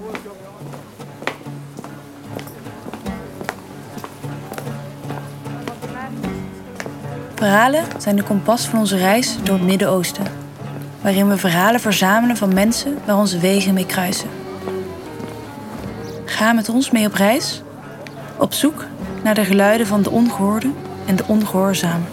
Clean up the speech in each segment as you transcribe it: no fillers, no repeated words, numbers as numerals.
Verhalen zijn de kompas van onze reis door het Midden-Oosten, waarin we verhalen verzamelen van mensen waar onze wegen mee kruisen. Ga met ons mee op reis, op zoek naar de geluiden van de ongehoorde en de ongehoorzamen.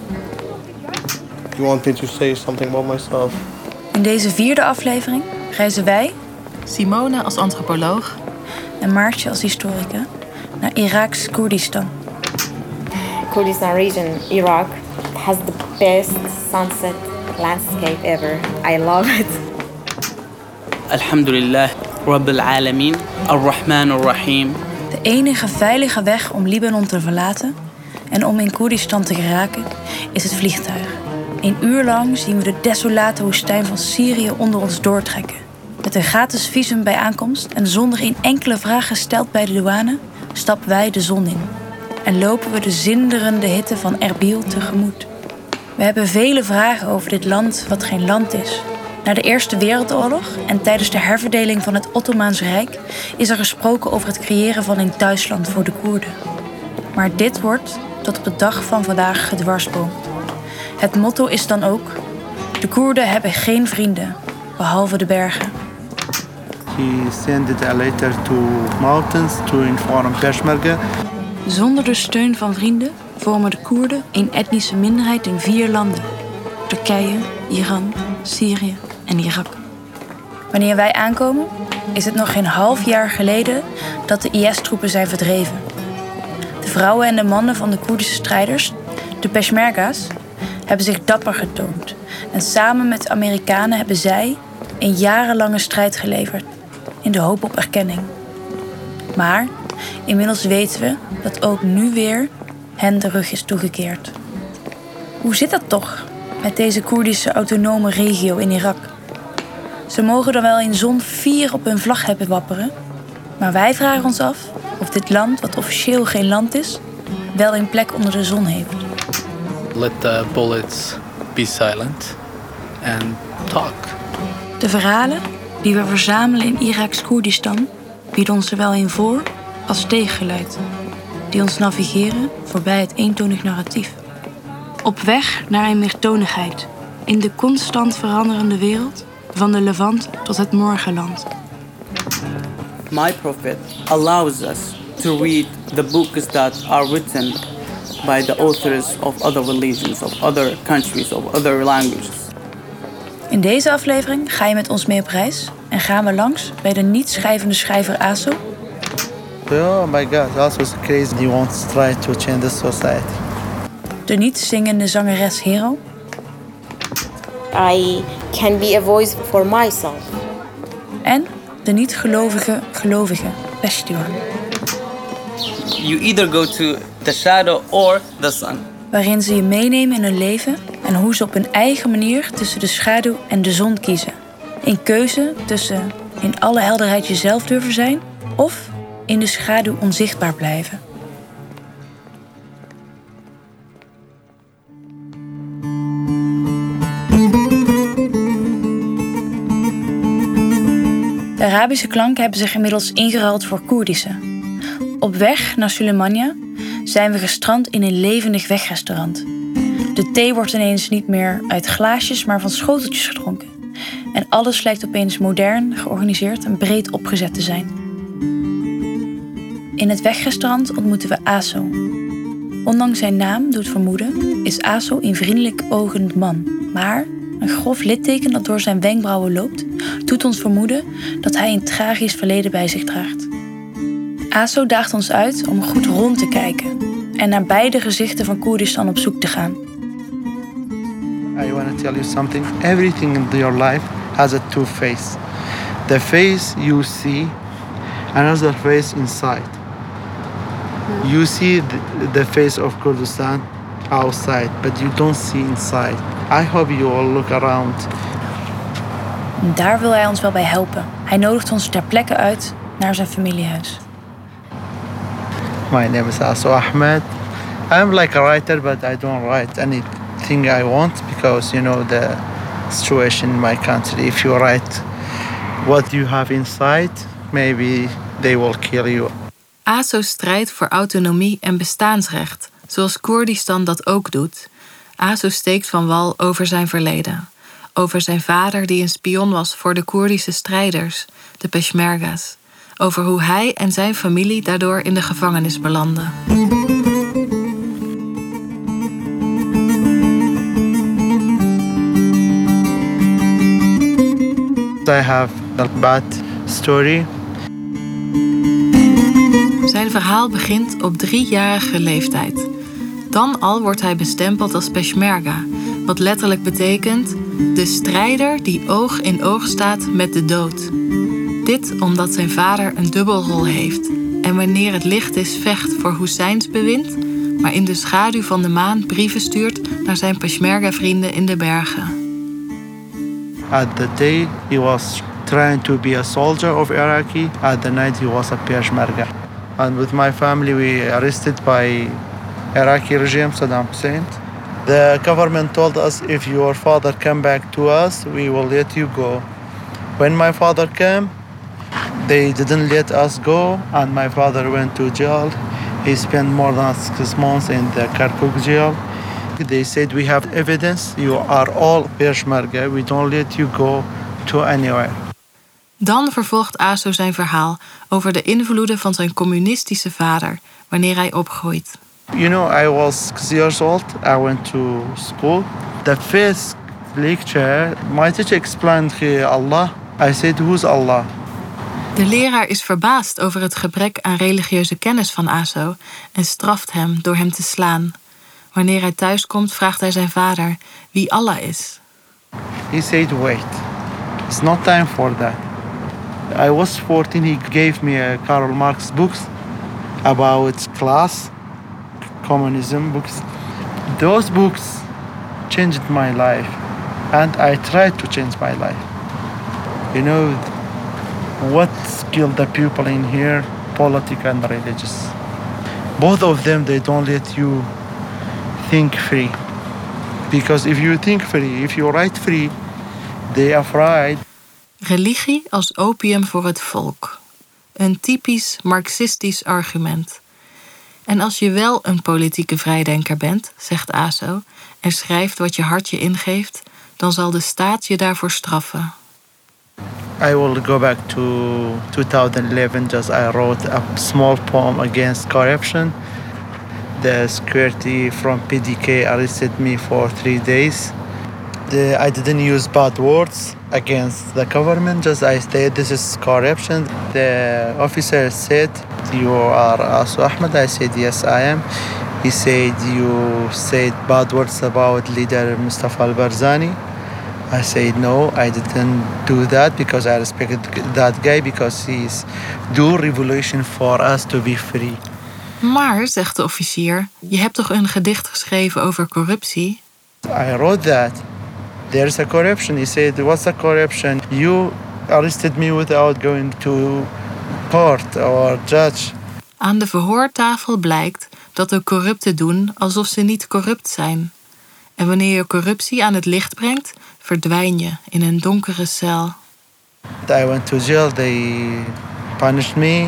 You want me to say something about myself? In deze 4e aflevering reizen wij, Simone als antropoloog en Maartje als historica, naar Iraks Koerdistan. Kurdistan region, Iraq, has the best sunset landscape ever. I love it. Alhamdulillah, Rabbil Alameen, Ar-Rahman Ar-Rahim. De enige veilige weg om Libanon te verlaten en om in Koerdistan te geraken is het vliegtuig. 1 uur lang zien we de desolate woestijn van Syrië onder ons doortrekken. Met een gratis visum bij aankomst en zonder een enkele vraag gesteld bij de douane stappen wij de zon in. En lopen we de zinderende hitte van Erbil tegemoet. We hebben vele vragen over dit land wat geen land is. Na de Eerste Wereldoorlog en tijdens de herverdeling van het Ottomaanse Rijk is er gesproken over het creëren van een thuisland voor de Koerden. Maar dit wordt tot op de dag van vandaag gedwarsboomd. Het motto is dan ook: de Koerden hebben geen vrienden, behalve de bergen. He sent a letter to mountains to inform Peshmerga. Zonder de steun van vrienden vormen de Koerden een etnische minderheid in 4 landen: Turkije, Iran, Syrië en Irak. Wanneer wij aankomen, is het nog geen half jaar geleden dat de IS-troepen zijn verdreven. De vrouwen en de mannen van de Koerdische strijders, de Peshmerga's, hebben zich dapper getoond. En samen met de Amerikanen hebben zij een jarenlange strijd geleverd, in de hoop op erkenning. Maar inmiddels weten we dat ook nu weer hen de rug is toegekeerd. Hoe zit dat toch met deze Koerdische autonome regio in Irak? Ze mogen dan wel in zon 4 op hun vlag hebben wapperen, maar wij vragen ons af of dit land, wat officieel geen land is, wel een plek onder de zon heeft. Let the bullets be silent and talk. De verhalen die we verzamelen in Iraks Koerdistan bieden ons zowel een voor- als tegengeluid, die ons navigeren voorbij het eentonig narratief. Op weg naar een meertonigheid in de constant veranderende wereld van de Levant tot het morgenland. My prophet allows us to read the books that are written by the authors of other religions, of other countries, of other languages. In deze aflevering ga je met ons mee op reis en gaan we langs bij de niet-schrijvende schrijver Aso. Oh my God, also is crazy. He wants to try to change the society. De niet-zingende zangeres Hero. I can be a voice for myself. En de niet-gelovige gelovige Peshtiwan. You either go to the shadow or the sun. Waarin ze je meenemen in hun leven en hoe ze op hun eigen manier tussen de schaduw en de zon kiezen. Een keuze tussen in alle helderheid jezelf durven zijn of in de schaduw onzichtbaar blijven. De Arabische klanken hebben zich inmiddels ingeruild voor Koerdische. Op weg naar Sulemania zijn we gestrand in een levendig wegrestaurant. De thee wordt ineens niet meer uit glaasjes, maar van schoteltjes gedronken. En alles lijkt opeens modern, georganiseerd en breed opgezet te zijn. In het wegrestaurant ontmoeten we Aso. Ondanks zijn naam doet vermoeden, is Aso een vriendelijk ogend man. Maar een grof litteken dat door zijn wenkbrauwen loopt, doet ons vermoeden dat hij een tragisch verleden bij zich draagt. Aso daagt ons uit om goed rond te kijken en naar beide gezichten van Koerdistan op zoek te gaan. I want to tell you something. Everything in your life has a two face. The face you see, another face inside. You see the face of Kurdistan outside, but you don't see inside. I hope you all look around. Daar wil hij ons wel bij helpen. Hij nodigt ons ter plekke uit naar zijn familiehuis. My name is Aso Ahmed. I'm like a writer, but I don't write anything I want because, you know, the situation in my country. If you write what you have inside, maybe they will kill you. ASO strijdt voor autonomie en bestaansrecht, zoals Koerdistan dat ook doet. ASO steekt van wal over zijn verleden. Over zijn vader die een spion was voor de Koerdische strijders, de Peshmerga's. Over hoe hij en zijn familie daardoor in de gevangenis belanden. I have a bad story. Zijn verhaal begint op 3-jarige leeftijd. Dan al wordt hij bestempeld als Peshmerga, wat letterlijk betekent de strijder die oog in oog staat met de dood. Dit omdat zijn vader een dubbelrol heeft en wanneer het licht is vecht voor Husseins bewind, maar in de schaduw van de maan brieven stuurt naar zijn Peshmerga-vrienden in de bergen. At the day he was trying to be a soldier of Iraqi. At the night he was a Peshmerga. And with my family we arrested by Iraqi regime, Saddam Hussein. The government told us if your father come back to us, we will let you go. When my father came, they didn't let us go, and my father went to jail. He spent more than 6 months in the Kirkuk jail. They said, we have evidence, you are all Peshmerga, we don't let you go to anywhere. Dan vervolgt ASO zijn verhaal over de invloeden van zijn communistische vader wanneer hij opgroeit. You know, I was 6 years old, I went to school. The first lecture, my teacher explained Allah. I said, who's Allah? De leraar is verbaasd over het gebrek aan religieuze kennis van ASO en straft hem door hem te slaan. Wanneer hij thuiskomt, vraagt hij zijn vader wie Allah is. He said, wait, it's not time for that. I was 14, he gave me Karl Marx books about class, communism books. Those books changed my life, and I tried to change my life. You know, what killed the people in here, politics and religious. Both of them, they don't let you think free. Because if you think free, if you write free, they are afraid. Religie als opium voor het volk. Een typisch marxistisch argument. En als je wel een politieke vrijdenker bent, zegt ASO, en schrijft wat je hart je ingeeft, dan zal de staat je daarvoor straffen. I will go back to 2011, just I wrote a small poem against corruption. The security from PDK arrested me for 3 days. I didn't use bad words against the government, just I said this is corruption. The officer said, you are ASO Ahmed? I said, yes, I am. He said, you said bad words about leader Mustafa al-Barzani. I said, no, I didn't do that because I respected that guy because he's do revolution for us to be free. Maar, zegt de officier, je hebt toch een gedicht geschreven over corruptie? I wrote that. There's a corruption. He said, what's a corruption? You arrested me without going to court or judge. Aan de verhoortafel blijkt dat de corrupten doen alsof ze niet corrupt zijn. En wanneer je corruptie aan het licht brengt, verdwijn je in een donkere cel. I went to jail. They punished me.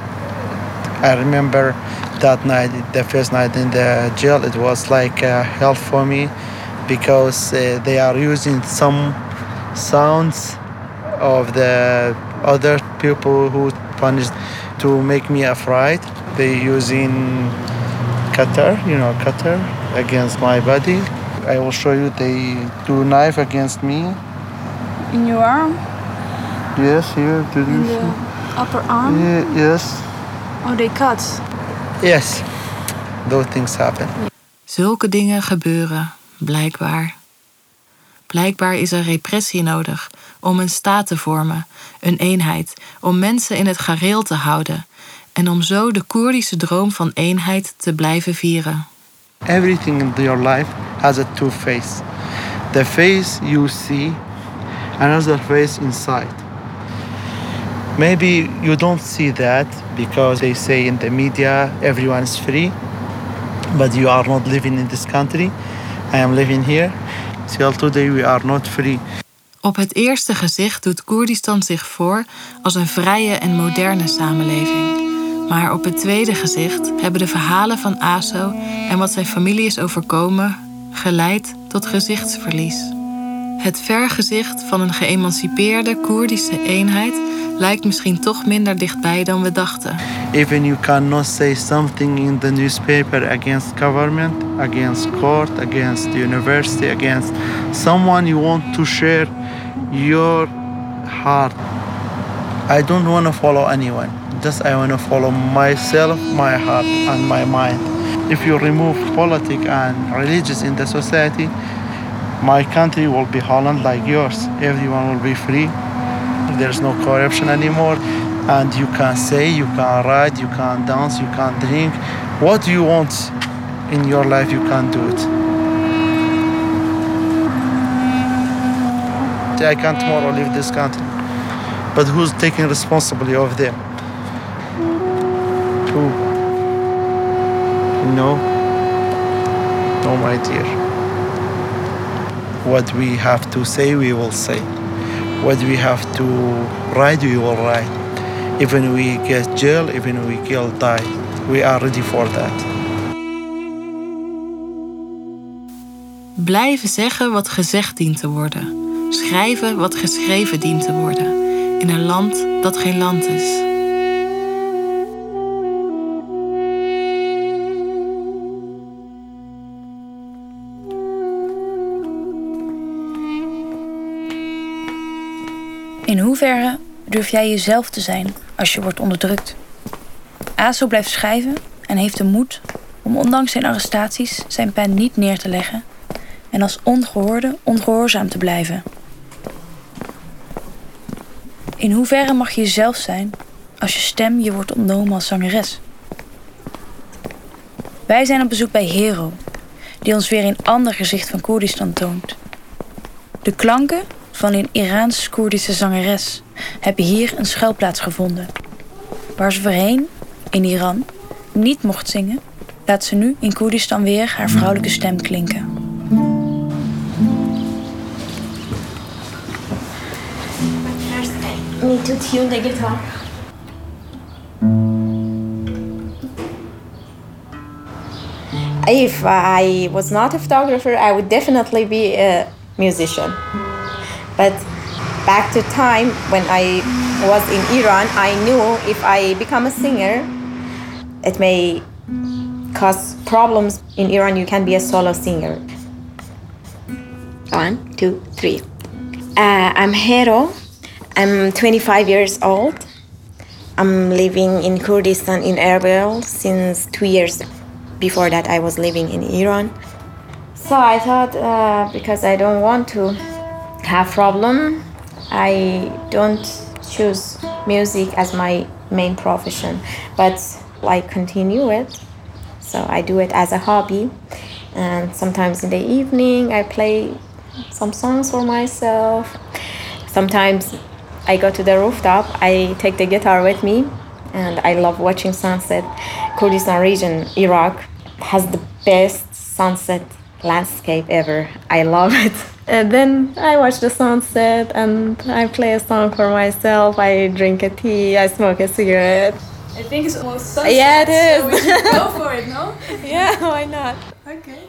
I remember that night, the first night in the jail, it was like hell for me because they are using some sounds of the other people who punished to make me afraid. They using cutter against my body. I will show you. They do knife against me. In your arm? Yes, here. In the upper arm? Yes. Oh, they cut. Yes. Those things happen. Zulke dingen gebeuren, blijkbaar. Blijkbaar is er repressie nodig om een staat te vormen, een eenheid, om mensen in het gareel te houden en om zo de Koerdische droom van eenheid te blijven vieren. Everything in your life has a two face. The face you see, another face inside. Maybe you don't see that because they say in the media everyone is free, but you are not living in this country. I am living here. Till today we are not free. Op het eerste gezicht doet Koerdistan zich voor als een vrije en moderne samenleving. Maar op het tweede gezicht hebben de verhalen van Aso en wat zijn familie is overkomen geleid tot gezichtsverlies. Het vergezicht van een geëmancipeerde Koerdische eenheid lijkt misschien toch minder dichtbij dan we dachten. Even you cannot say something in the newspaper against government, against court, against the university, against someone you want to share your heart. I don't want to follow anyone. Just I want to follow myself, my heart and my mind. If you remove politics and religious in the society, my country will be Holland like yours. Everyone will be free. There's no corruption anymore. And you can say, you can write, you can dance, you can drink. What you want in your life, you can do it. I can tomorrow leave this country. But who's taking responsibility of them? Who? No. No, my dear. What we have to say, we will say. What we have to write, we will write. Even we get jail, even we kill, die. We are ready for that. Blijven zeggen wat gezegd dient te worden. Schrijven wat geschreven dient te worden. In een land dat geen land is. In hoeverre durf jij jezelf te zijn als je wordt onderdrukt? Aso blijft schrijven en heeft de moed om ondanks zijn arrestaties zijn pen niet neer te leggen en als ongehoorde ongehoorzaam te blijven. In hoeverre mag je jezelf zijn als je stem je wordt ontnomen als zangeres? Wij zijn op bezoek bij Hero, die ons weer een ander gezicht van Koerdistan toont. De klanken van een Iraans-Koerdische zangeres hebben hier een schuilplaats gevonden. Waar ze voorheen, in Iran, niet mocht zingen, laat ze nu in Koerdistan weer haar vrouwelijke stem klinken. Me to tune the guitar. If I was not a photographer, I would definitely be a musician. But back to time when I was in Iran, I knew if I become a singer, it may cause problems. In Iran, you can be a solo singer. 1, 2, 3. I'm Hero. I'm 25 years old. I'm living in Kurdistan in Erbil since 2 years. Before that, I was living in Iran. So I thought, because I don't want to have problem, I don't choose music as my main profession, but I continue it. So I do it as a hobby, and sometimes in the evening I play some songs for myself. Sometimes I go to the rooftop, I take the guitar with me, and I love watching sunset. Kurdistan region, Iraq, has the best sunset landscape ever. I love it. And then I watch the sunset and I play a song for myself. I drink a tea, I smoke a cigarette. I think it's almost sunset. Yeah, it is. So we should go for it, no? Yeah, why not? Okay.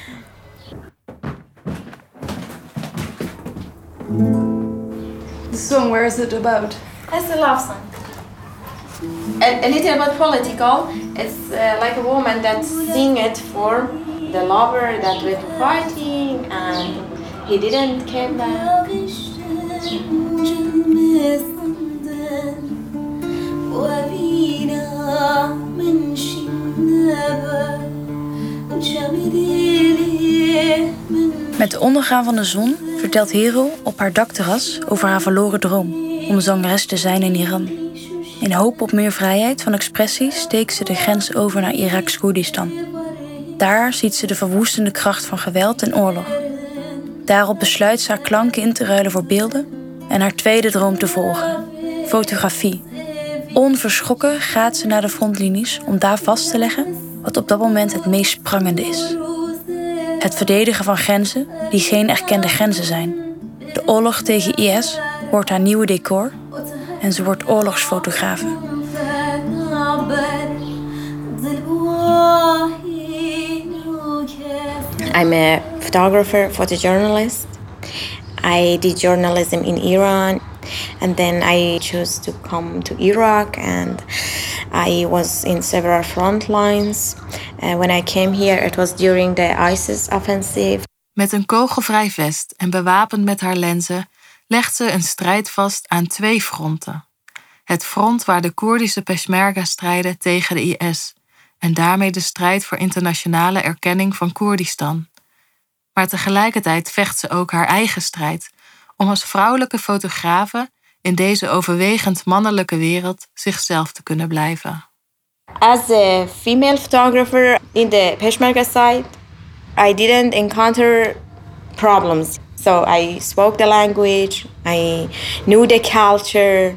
The song, where is it about? It's a love song. A little bit political. It's like a woman that sing it for the lover that was fighting and he didn't come back. Met het ondergaan van de zon vertelt Hero op haar dakterras over haar verloren droom om zangeres te zijn in Iran. In hoop op meer vrijheid van expressie steekt ze de grens over naar Iraks Koerdistan. Daar ziet ze de verwoestende kracht van geweld en oorlog. Daarop besluit ze haar klanken in te ruilen voor beelden en haar tweede droom te volgen: fotografie. Onverschrokken gaat ze naar de frontlinies om daar vast te leggen wat op dat moment het meest prangende is. Het verdedigen van grenzen die geen erkende grenzen zijn. De oorlog tegen IS wordt haar nieuwe decor en ze wordt oorlogsfotografe. I'm a photographer, photojournalist. I did journalism in Iran, and then I chose to come to Iraq, and I was in several front lines. When I came here, it was during the ISIS offensive. Met een kogelvrij vest en bewapend met haar lenzen legt ze een strijd vast aan 2 fronten. Het front waar de Koerdische Peshmerga strijden tegen de IS en daarmee de strijd voor internationale erkenning van Koerdistan. Maar tegelijkertijd vecht ze ook haar eigen strijd om als vrouwelijke fotografe in deze overwegend mannelijke wereld zichzelf te kunnen blijven. As a female photographer in the Peshmerga side, I didn't encounter problems. So I spoke the language, I knew the culture.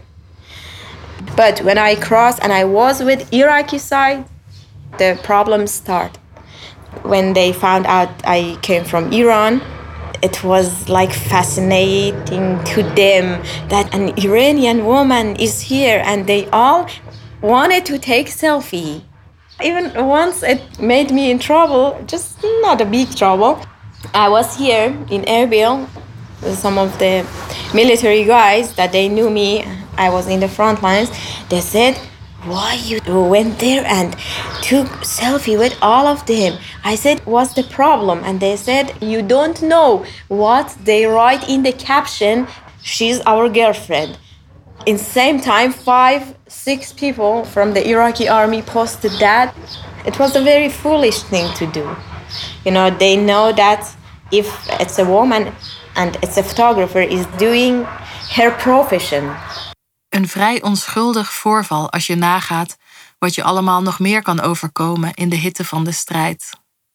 But when I crossed and I was with Iraqi side, the problems start. When they found out I came from Iran, it was like fascinating to them that an Iranian woman is here, and they all wanted to take selfie. Even once it made me in trouble, just not a big trouble. I was here in Erbil with some of the military guys that they knew me. I was in the front lines. They said, why you went there and took selfie with all of them? I said, what's the problem? And they said, you don't know what they write in the caption, she's our girlfriend. In the same time, 5-6 people from the Iraqi army posted that. It was a very foolish thing to do. You know, they know that if it's a woman and it's a photographer is doing her profession. Een vrij onschuldig voorval als je nagaat wat je allemaal nog meer kan overkomen in de hitte van de strijd.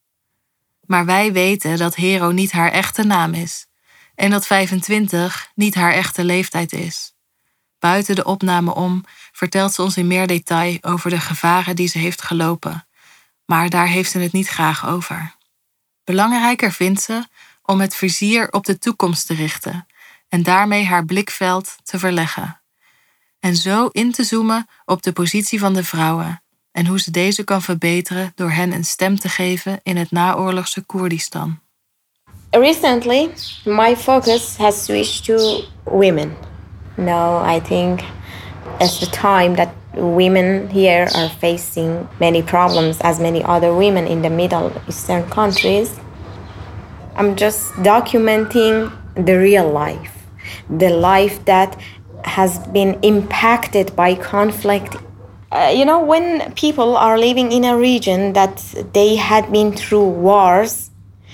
Maar wij weten dat Hero niet haar echte naam is en dat 25 niet haar echte leeftijd is. Buiten de opname om vertelt ze ons in meer detail over de gevaren die ze heeft gelopen, maar daar heeft ze het niet graag over. Belangrijker vindt ze om het vizier op de toekomst te richten en daarmee haar blikveld te verleggen. En zo in te zoomen op de positie van de vrouwen en hoe ze deze kan verbeteren door hen een stem te geven in het naoorlogse Koerdistan. Recently, my focus has switched to women. Now I think it's the time that women here are facing many problems as many other women in the Middle Eastern countries. I'm just documenting the real life, the life that has been impacted by conflict. When people are living in a region that they had been through wars,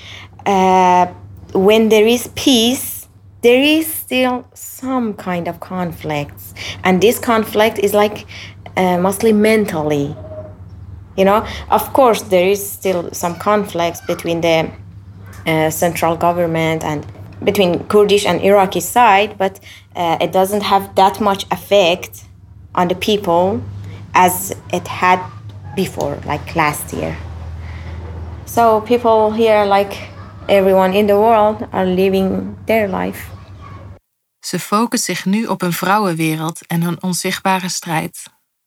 when there is peace, there is still some kind of conflicts. And this conflict is like mostly mentally. Of course, there is still some conflicts between the central government and between Kurdish and Iraqi side, but it doesn't have that much effect on the people as it had before, like last year. So people here, like everyone in the world, are living their life. Ze focust zich nu op een vrouwenwereld en een onzichtbare strijd.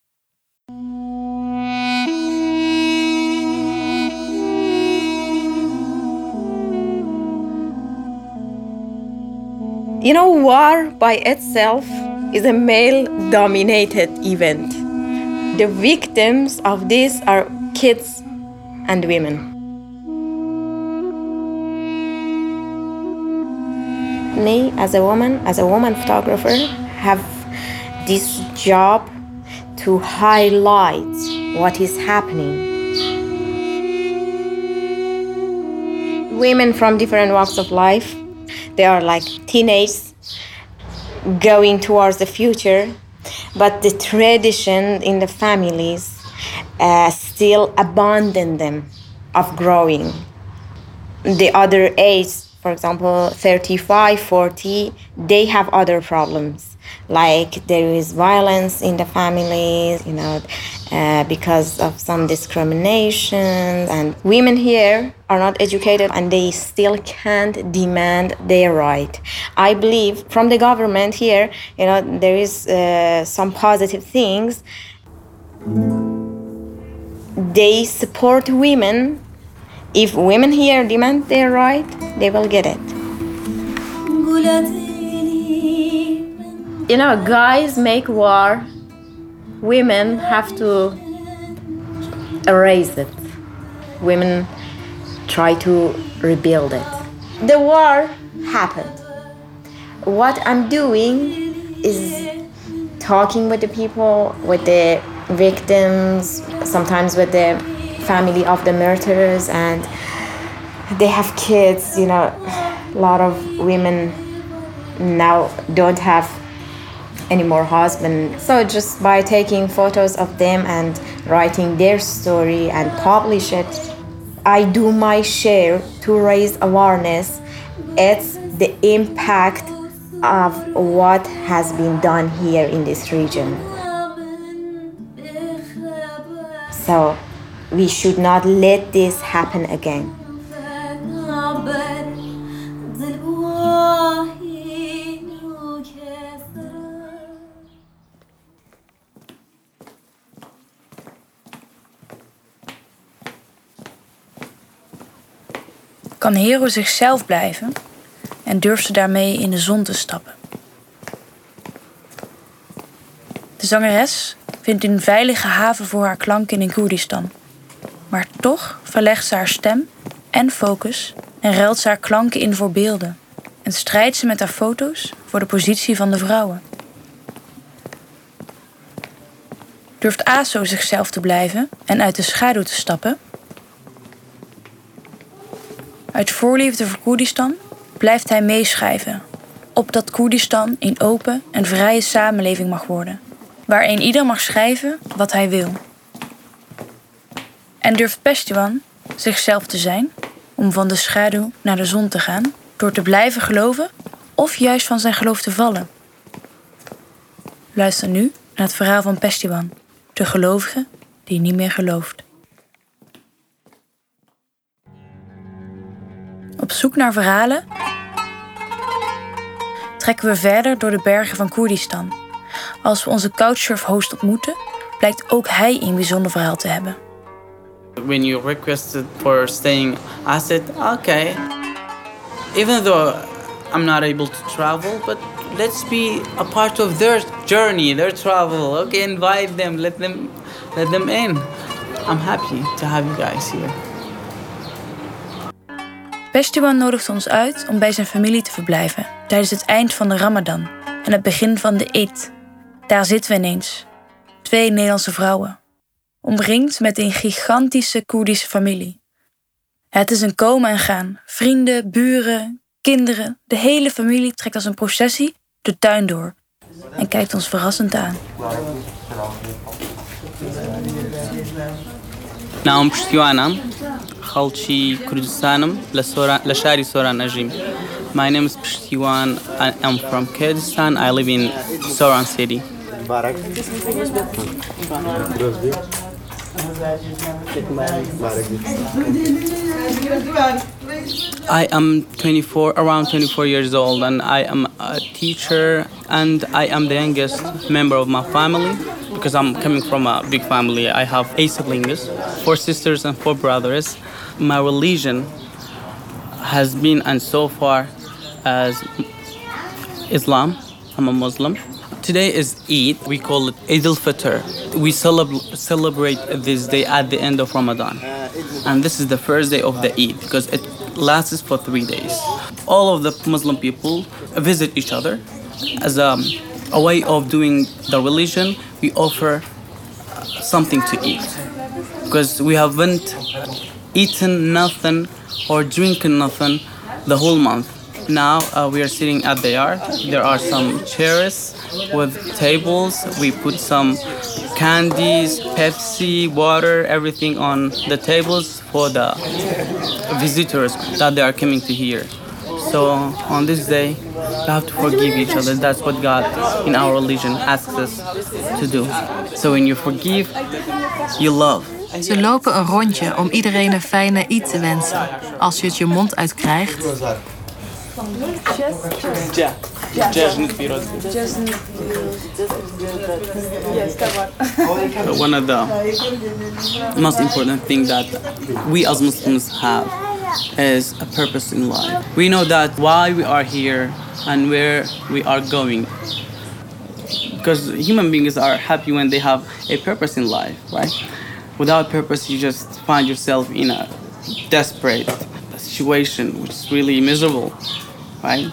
War by itself is a male-dominated event. The victims of this are kids and women. Me, as a woman photographer, have this job to highlight what is happening. Women from different walks of life, they are like teenagers going towards the future, but the tradition in the families still abandon them of growing. The other age for example, 35, 40, they have other problems. Like there is violence in the families, because of some discrimination. And women here are not educated and they still can't demand their right. I believe from the government here, there is some positive things. They support women. If women here demand their right, they will get it. Guys make war. Women have to erase it. Women try to rebuild it. The war happened. What I'm doing is talking with the people, with the victims, sometimes with the family of the murderers, and they have kids. A lot of women now don't have any more husband. So just by taking photos of them and writing their story and publish it, I do my share to raise awareness. It's the impact of what has been done here in this region. So we should not let this happen again. Kan Hero zichzelf blijven en durft ze daarmee in de zon te stappen. De zangeres vindt een veilige haven voor haar klanken in Koerdistan. Maar toch verlegt ze haar stem en focus en ruilt ze haar klanken in voor beelden. En strijdt ze met haar foto's voor de positie van de vrouwen. Durft Aso zichzelf te blijven en uit de schaduw te stappen? Uit voorliefde voor Koerdistan blijft hij meeschrijven, opdat Koerdistan een open en vrije samenleving mag worden, waarin ieder mag schrijven wat hij wil. En durft Peshtiwan zichzelf te zijn om van de schaduw naar de zon te gaan, door te blijven geloven of juist van zijn geloof te vallen? Luister nu naar het verhaal van Peshtiwan, de gelovige die niet meer gelooft. Op zoek naar verhalen trekken we verder door de bergen van Koerdistan. Als we onze Couchsurf-host ontmoeten, blijkt ook hij een bijzonder verhaal te hebben. When you requested for staying, I said, okay, even though I'm not able to travel, but let's be a part of their journey, their travel. Okay, invite them, let them in. I'm happy to have you guys here. Peshtiwan nodigt ons uit om bij zijn familie te verblijven tijdens het eind van de Ramadan en het begin van de Eid. Daar zitten we ineens. 2 Nederlandse vrouwen. Omringd met een gigantische Koerdische familie. Het is een komen en gaan. Vrienden, buren, kinderen. De hele familie trekt als een processie de tuin door. En kijkt ons verrassend aan. نعم بشتيوانا خالتي كردستانم لشاري سوران أجيم. My name is Peshtiwan. I am from Kurdistan. I live in Soran City. I am around 24 years old, and I am a teacher, and I am the youngest member of my family because I'm coming from a big family. I have 8 siblings, 4 sisters and 4 brothers. My religion has been, and so far, as Islam. I'm a Muslim. Today is Eid. We call it Eid al-Fitr. We celebrate this day at the end of Ramadan. And this is the first day of the Eid because it lasts for 3 days. All of the Muslim people visit each other. As a way of doing the religion, we offer something to eat. Because we haven't eaten nothing or drinking nothing the whole month. Now we are sitting at the yard. There are some chairs with tables. We put some candies, Pepsi, water, everything on the tables for the visitors that they are coming to here. So on this day, we have to forgive each other. That's what God in our religion asks us to do. So when you forgive, you love. Ze lopen een rondje om iedereen een fijne Eid te wensen. Als je het je mond uitkrijgt, One of the most important things that we as Muslims have is a purpose in life. We know that why we are here and where we are going. Because human beings are happy when they have a purpose in life, right? Without purpose, you just find yourself in a desperate situation, which is really miserable, right?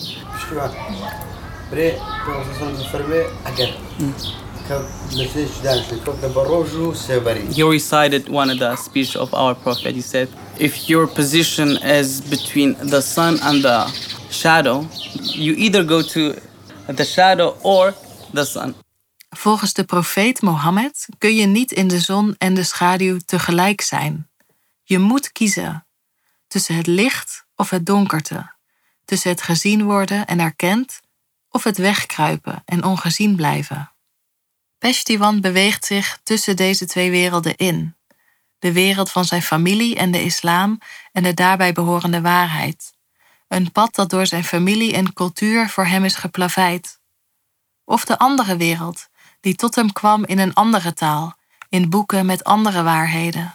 He recited one of the speech of our Prophet. He said, if your position is between the sun and the shadow, you either go to the shadow or the sun. volgens de profeet Mohammed kun je niet in de zon en de schaduw tegelijk zijn. Je moet kiezen tussen het licht of het donkerte, tussen het gezien worden en erkend of het wegkruipen en ongezien blijven. Peshtiwan beweegt zich tussen deze twee werelden in. De wereld van zijn familie en de islam en de daarbij behorende waarheid. Een pad dat door zijn familie en cultuur voor hem is geplaveid. Of de andere wereld, die tot hem kwam in een andere taal, in boeken met andere waarheden.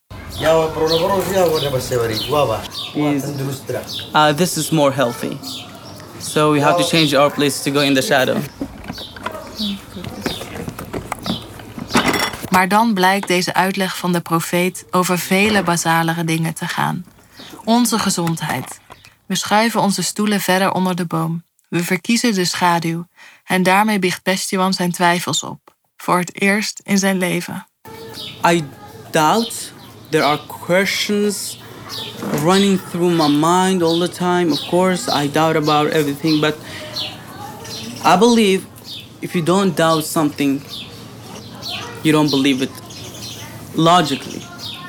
This is more healthy. So we have to change our place to go in the shadow. Maar dan blijkt deze uitleg van de profeet over vele basalere dingen te gaan. Onze gezondheid. We schuiven onze stoelen verder onder de boom. We verkiezen de schaduw. En daarmee biecht Peshtiwan zijn twijfels op. Voor het eerst in zijn leven. I doubt. There are questions running through my mind all the time. Of course, I doubt about everything. But I believe if you don't doubt something, you don't believe it logically.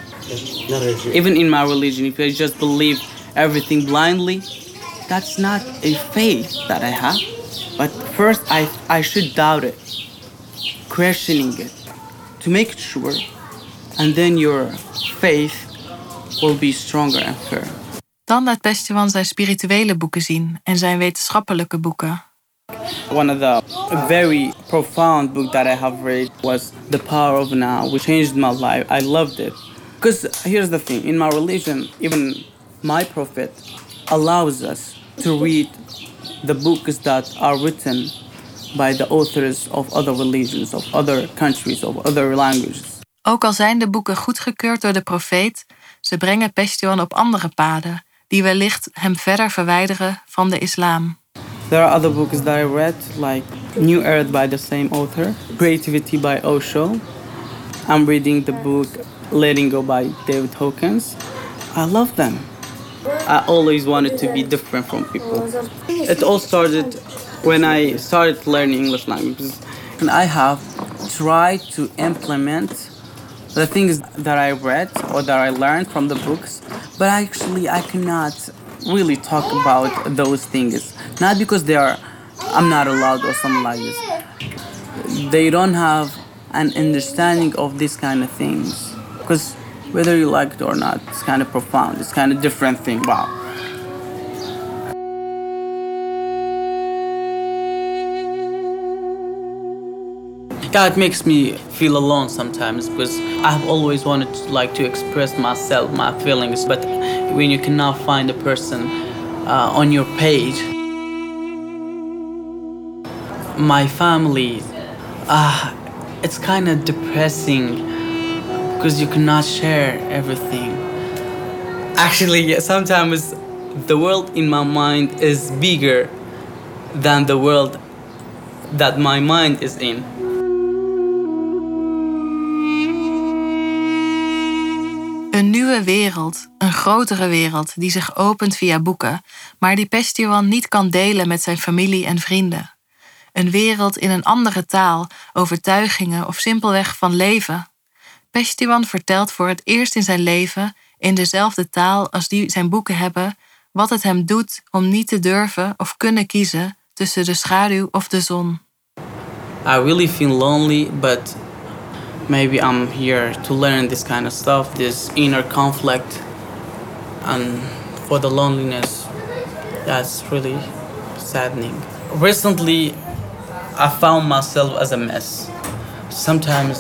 Even in my religion, if I just believe everything blindly, that's not a faith that I have. But first, I should doubt it, questioning it, to make it sure. And then your faith will be stronger and firm. Dan laat Peshtiwan zijn spirituele boeken zien en zijn wetenschappelijke boeken. One of the very profound book that I have read was The Power of Now, which changed my life. I loved it. Because here's the thing, in my religion, even my prophet allows us to read the books that are written by the authors of other religions, of other countries, of other languages. Ook al zijn de boeken goedgekeurd door de profeet, ze brengen Peshtiwan op andere paden, die wellicht hem verder verwijderen van de islam. There are other books that I read, like New Earth by the same author, Creativity by Osho. I'm reading the book Letting Go by David Hawkins. I love them. I always wanted to be different from people. It all started when I started learning English languages. And I have tried to implement the things that I read or that I learned from the books, but actually I cannot really talk about those things. Not because I'm not allowed or something like this. They don't have an understanding of these kind of things. Because whether you like it or not, it's kind of profound. It's kind of different thing. Wow. Yeah, it makes me feel alone sometimes because I have always wanted to express myself, my feelings, but when you cannot find a person on your page. My family, it's kind of depressing because you cannot share everything. Actually, yeah, sometimes the world in my mind is bigger than the world that my mind is in. Een nieuwe wereld, een grotere wereld die zich opent via boeken, maar die Peshtiwan niet kan delen met zijn familie en vrienden. Een wereld in een andere taal, overtuigingen of simpelweg van leven. Peshtiwan vertelt voor het eerst in zijn leven, in dezelfde taal als die zijn boeken hebben, wat het hem doet om niet te durven of kunnen kiezen tussen de schaduw of de zon. I really feel lonely, but maybe I'm here to learn this kind of stuff, this inner conflict. And for the loneliness, that's really saddening. Recently, I found myself as a mess. Sometimes,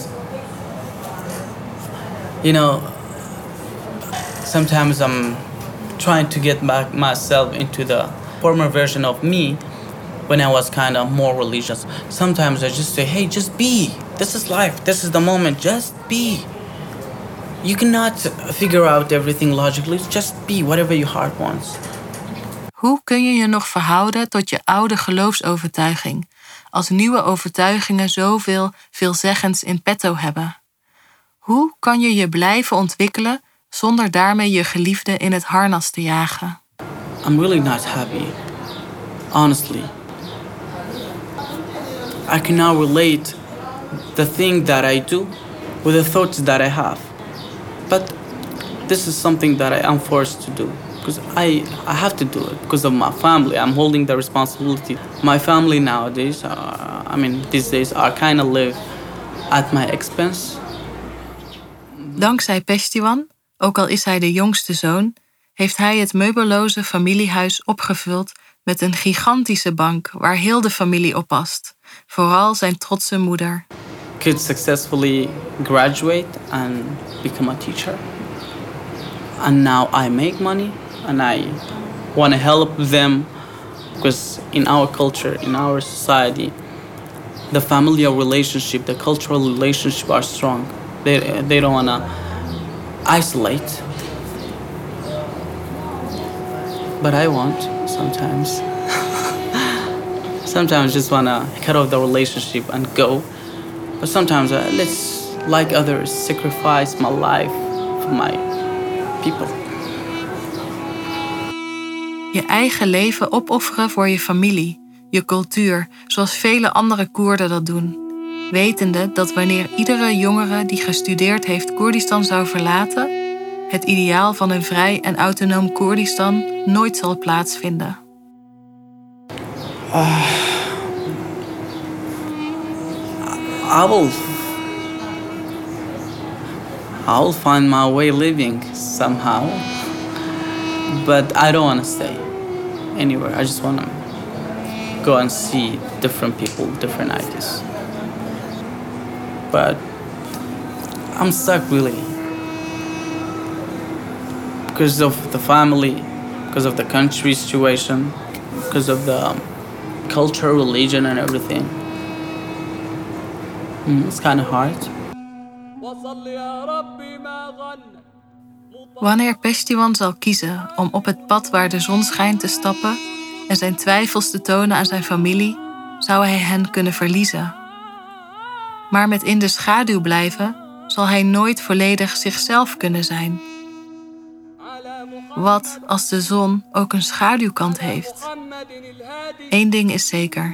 sometimes I'm trying to get back myself into the former version of me when I was kind of more religious. Sometimes I just say, hey, just be. This is life. This is the moment. Just be. You cannot figure out everything logically. Just be whatever your heart wants. Hoe kun je je nog verhouden tot je oude geloofsovertuiging, als nieuwe overtuigingen zoveel veelzeggens in petto hebben? Hoe kan je je blijven ontwikkelen zonder daarmee je geliefde in het harnas te jagen? I'm really not happy, honestly. I can now relate the thing that I do with the thoughts that I have. But this is something that I am forced to do. Because I have to do it because of my family. I'm holding the responsibility. My family nowadays, these days, are kind of live at my expense. Dankzij Peshtiwan, ook al is hij de jongste zoon, heeft hij het meubelloze familiehuis opgevuld met een gigantische bank waar heel de familie op past. Vooral zijn trotse moeder. Kids successfully graduate and become a teacher. And now I make money. And I want to help them because in our culture, in our society, the familial relationship, the cultural relationship are strong. They don't want to isolate. But I want sometimes. Sometimes just want to cut off the relationship and go. But sometimes let's, like others, sacrifice my life for my people. Je eigen leven opofferen voor je familie, je cultuur, zoals vele andere Koerden dat doen. Wetende dat wanneer iedere jongere die gestudeerd heeft Koerdistan zou verlaten, het ideaal van een vrij en autonoom Koerdistan nooit zal plaatsvinden. I will find my way living somehow. But I don't want to stay anywhere. I just want to go and see different people, different ideas. But I'm stuck really. Because of the family, because of the country situation, because of the culture, religion and everything. It's kind of hard. Wanneer Peshtiwan zal kiezen om op het pad waar de zon schijnt te stappen en zijn twijfels te tonen aan zijn familie, zou hij hen kunnen verliezen. Maar met in de schaduw blijven zal hij nooit volledig zichzelf kunnen zijn. Wat als de zon ook een schaduwkant heeft? Eén ding is zeker.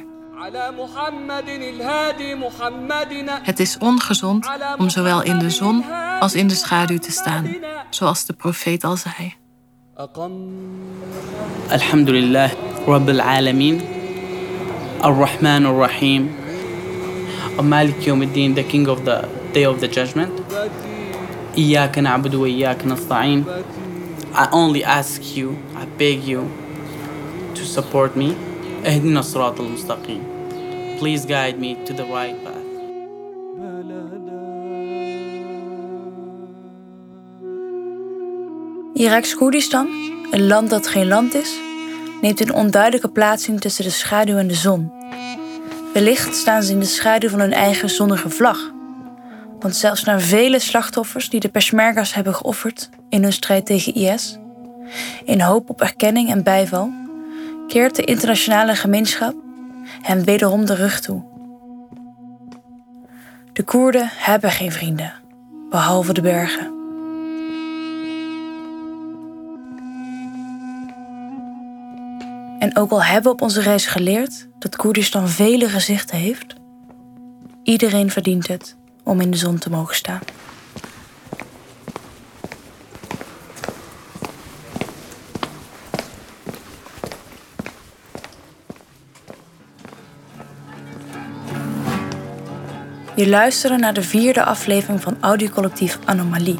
Het is ongezond om zowel in de zon als in de schaduw te staan, zoals de profeet al zei. Alhamdulillah, Rabbil Alameen, Ar-Rahman Ar-Rahim, Malik Yawmiddin, the King of the Day of the Judgment. Iyaka na'budu wa iyaka nasta'in. I only ask you, I beg you to support me. Ihdina as-sirat al-mustaqim. Please guide me to the right path. Iraks Koerdistan, een land dat geen land is, neemt een onduidelijke plaatsing tussen de schaduw en de zon. Wellicht staan ze in de schaduw van hun eigen zonnige vlag. Want zelfs na vele slachtoffers die de Peshmerga's hebben geofferd in hun strijd tegen IS, in hoop op erkenning en bijval, keert de internationale gemeenschap hen wederom de rug toe. De Koerden hebben geen vrienden, behalve de bergen. En ook al hebben we op onze reis geleerd dat Koerdistan vele gezichten heeft, iedereen verdient het om in de zon te mogen staan. Je luisterde naar de 4e aflevering van audiocollectief Anomalie.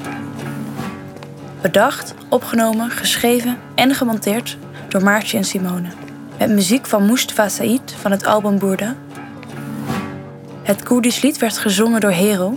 Bedacht, opgenomen, geschreven en gemonteerd door Maartje en Simone. Met muziek van Mustafa Said van het album Burda. Het Koerdisch lied werd gezongen door Hero.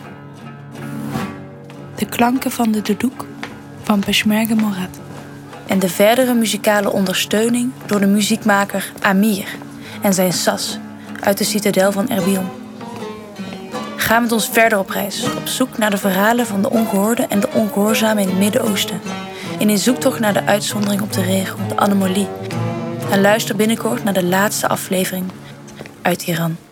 De klanken van de Duduk van Peshmerga Morad. En de verdere muzikale ondersteuning door de muziekmaker Amir en zijn sas uit de citadel van Erbil. Ga met ons verder op reis, op zoek naar de verhalen van de ongehoorde en de ongehoorzamen in het Midden-Oosten. In een zoektocht naar de uitzondering op de regel, de anomalie. En luister binnenkort naar de laatste aflevering uit Iran.